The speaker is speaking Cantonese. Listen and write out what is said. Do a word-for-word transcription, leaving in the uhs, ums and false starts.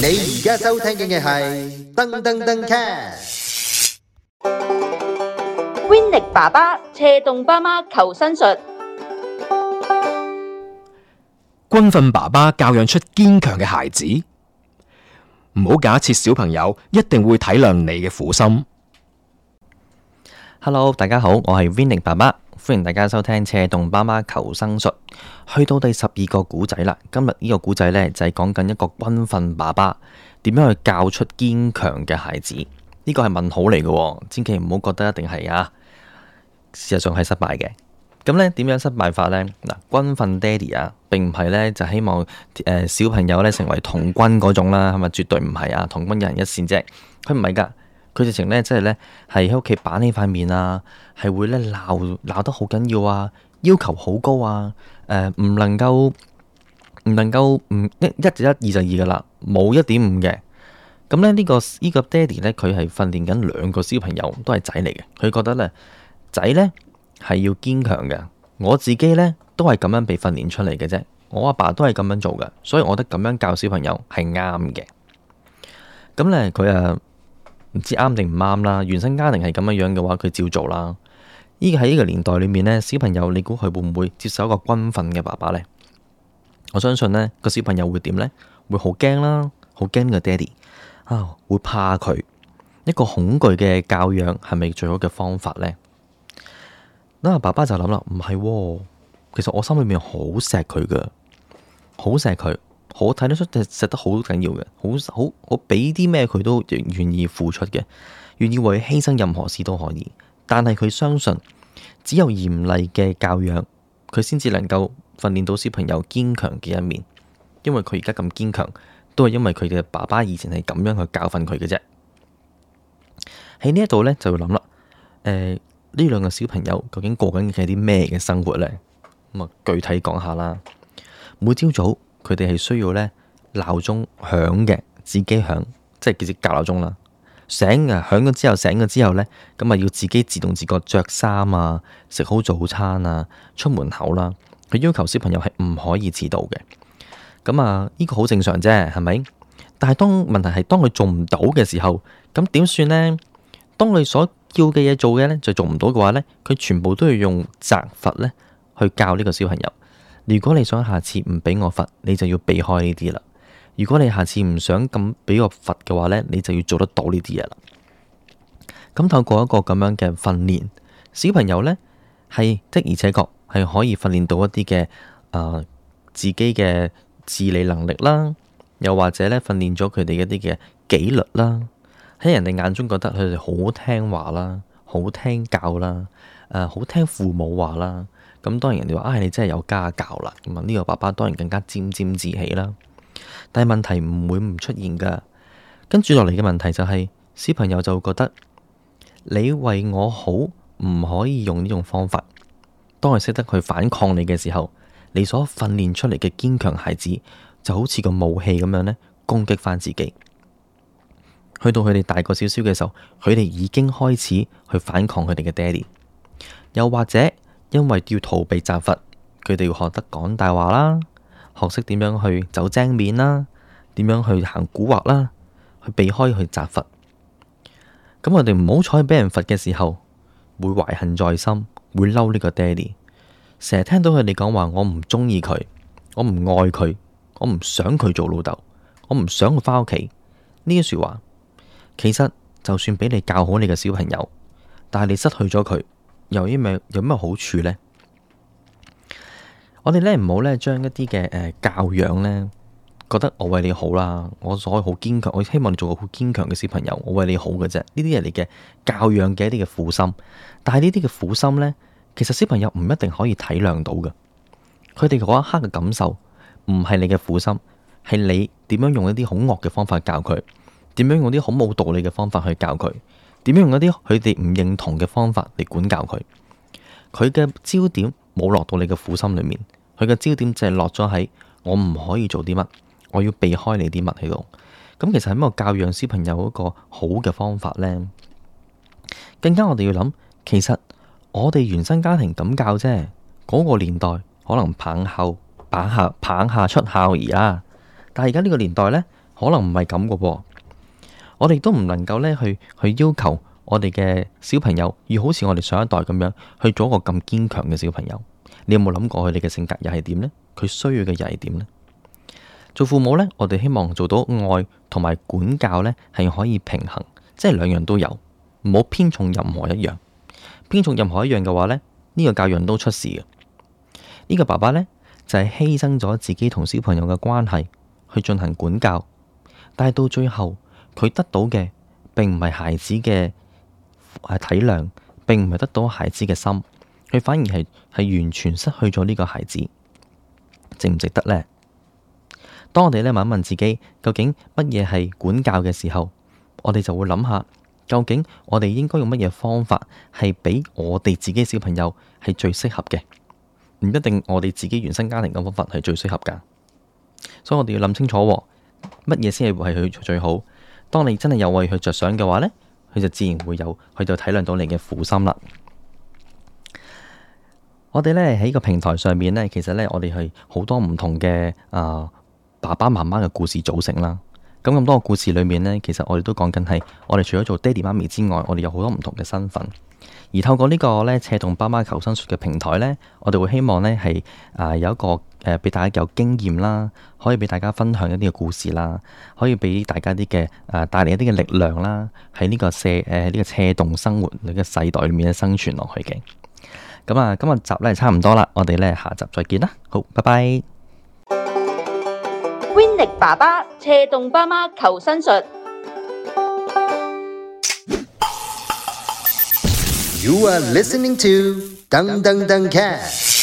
而家收聽嘅係噔噔噔 cast。 Winnie 爸爸斜動爸媽求生術。 軍訓爸爸教養出堅強嘅孩子，唔好假設小朋友一定會體諒你嘅苦心。 Hello， 大家好，我係 Winnie 爸爸，歡迎大家收聽斜動爸媽求生術。去到第十二個古仔啦，今日呢個古仔呢，就係講緊一個軍訓爸爸點樣去教出堅強嘅孩子。呢個係問號嚟嘅，千祈唔好覺得一定係啊，事實上係失敗嘅。咁呢點樣失敗法呢？嗱，軍訓爹哋啊，並唔係呢就希望誒、呃、小朋友呢成為童軍嗰種啦，係咪？絕對唔係啊，童軍一人一線啫，佢唔係噶。佢直情咧，即係咧，係喺屋企板起塊面啊，係會咧鬧鬧得好緊要啊，要求好高啊，誒、呃，唔能夠唔能夠唔一一就一，二就二噶啦，冇一點五嘅。咁咧呢個呢、這個爹哋咧，佢係訓練緊兩個小朋友，都係仔嚟嘅。佢覺得咧，仔咧係要堅強嘅。我自己咧都係咁樣被訓練出嚟嘅啫，我阿爸都係咁樣做嘅，所以我覺得咁樣教小朋友係啱嘅。咁咧佢啊。唔知啱定唔啱啦，原生家庭係咁樣樣嘅話，佢照做啦。依個喺呢個年代裏面呢，小朋友你估佢會唔會接受一個軍訓嘅爸爸呢？我相信呢個小朋友會點呢？會好驚啦，好驚個爹哋啊，會怕佢。一個恐懼嘅教養係咪最好嘅方法呢？嗱，爸爸就諗啦，唔係喎，其實我心裏面好錫佢噶，好錫佢。好睇得出，錫得好緊要嘅，好好我俾啲咩佢都願意付出嘅，願意為犧牲任何事都可以。但係佢相信，只有嚴厲嘅教養，佢先至能夠訓練到小朋友堅強嘅一面。因為佢而家咁堅強，都係因為佢嘅爸爸以前係咁樣去教訓佢嘅啫。喺呢一度呢，就會諗啦，誒、呃，呢兩個小朋友究竟過緊嘅係啲咩嘅生活呢？咁啊，具體講下啦。每朝早，佢哋係需要咧鬧鐘響嘅，自己響，即係叫做校鬧鐘啦。醒啊，響咗之後醒咗之後咧，咁啊要自己自動自覺着衫啊，食好早餐啊，出門口啦。佢要求小朋友係唔可以遲到嘅。咁啊，呢個好正常啫，係咪？但係當問題係當佢做唔到嘅時候，咁點算呢？當佢所叫嘅嘢做嘅咧就做唔到嘅話咧，佢全部都要用責罰咧去教呢個小朋友。如果你想下次唔俾我罰，你就要避開呢啲啦。如果你下次唔想咁俾我罰嘅話呢，你就要做得到呢啲嘢啦。咁透過一個咁樣嘅訓練，小朋友呢係的而且確係可以訓練到一啲嘅誒自己嘅自理能力啦，又或者呢訓練咗佢哋一啲嘅紀律啦。喺人哋眼中覺得佢哋好聽話啦，好聽教啦，誒好聽父母話啦。咁當然人哋話啊，你真係有家教啦。咁啊，呢個爸爸當然更加沾沾自喜啦。但係問題唔會唔出現噶。跟住落嚟嘅問題就係，小朋友就會覺得你為我好，唔可以用呢種方法。當佢識得去反抗你嘅時候，你所訓練出嚟嘅堅強孩子就好似個武器咁樣呢，攻擊翻自己。去到佢哋大個少少嘅時候，佢哋已經開始去反抗佢哋嘅爹哋，又或者因為要逃避責罰，佢哋要學得講大話啦，學識點樣去走精面啦，點樣去行蠱惑啦，去避開去責罰。咁我哋唔好彩俾人罰嘅時候，會懷恨在心，會嬲呢個爹哋。成日聽到佢哋講話，我唔中意佢，我唔愛佢，我唔想佢做老豆，我唔想佢返屋企。呢啲說話，其實就算俾你教好你嘅小朋友，但係你失去咗佢，有啲咩有咩好處呢？我哋咧唔好咧將一啲嘅誒教養咧，覺得我為你好啦，我所謂好堅強，我希望你做個好堅強嘅小朋友，我為你好嘅啫。呢啲係你嘅教養嘅一啲嘅苦心，但係呢啲嘅苦心咧，其實小朋友唔一定可以體諒到嘅。佢哋嗰一刻嘅感受唔係你嘅苦心，係你點樣用一啲好惡嘅方法教佢，點樣用啲好冇道理嘅方法去教佢，點樣用一啲佢哋唔認同嘅方法嚟管教佢。佢嘅焦點冇落到你嘅苦心裏面，佢嘅焦點就係落咗喺我唔可以做啲乜，我要避開你啲乜喺度。咁其實係一個教養小朋友一個好嘅方法呢？更加我哋要諗，其實我哋原生家庭咁教啫，嗰個年代可能棒下棒下棒下出孝兒啦。但係而家呢個年代呢，可可能唔係咁嘅喎。我哋都唔能夠咧去去要求我哋嘅小朋友要好似我哋上一代咁樣去做一個咁堅強嘅小朋友。你有冇諗過佢哋嘅性格又係點呢？佢需要嘅又係點呢？做父母呢，我哋希望做到愛同埋管教呢係可以平衡，即係兩樣都有，唔好偏重任何一樣。偏重任何一樣嘅話呢，呢個教養都出事嘅。呢個爸爸呢，就係犧牲咗自己同小朋友嘅關係去進行管教，但係到最後佢得到嘅並唔係孩子嘅體諒，並唔係得到孩子嘅心，佢反而係係完全失去咗呢個孩子，值唔值得呢？當我哋咧問一問自己，究竟乜嘢係管教嘅時候，我哋就會諗下，究竟我哋應該用乜嘢方法係俾我哋自己小朋友係最適合嘅，唔一定我哋自己原生家庭嘅方法係最適合噶。所以我哋要諗清楚，乜嘢先係為佢最好。當你真係有為佢着想嘅話呢，佢就自然會有去到體諒到你嘅苦心啦。我哋咧喺個平台上面呢，其實呢，我哋係好多唔同嘅啊、呃、爸爸媽媽嘅故事組成啦。咁咁多個故事裏面呢，其實我哋都講緊係我哋除咗做爹哋媽咪之外，我哋有好多唔同嘅身份。而透過呢個咧斜動爸媽求生術嘅平台呢，我哋會希望呢係啊有一個誒俾大家有經驗啦，可以俾大家分享一啲嘅故事啦，可以俾大家啲嘅誒帶嚟一啲嘅力量啦，喺呢個斜誒呢個斜動生活呢個世代裏面咧生存落去嘅。咁啊，今日集咧差唔多啦，我哋咧下集再見啦，好，拜拜。 Winnie 爸爸斜動爸媽求生術。 You are listening to Dang Dang Dang Cat。